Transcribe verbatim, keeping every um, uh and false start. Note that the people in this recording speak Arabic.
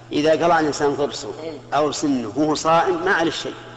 إذا قلع الإنسان ضرسه أو سنه وهو صائم ما عليه شيء.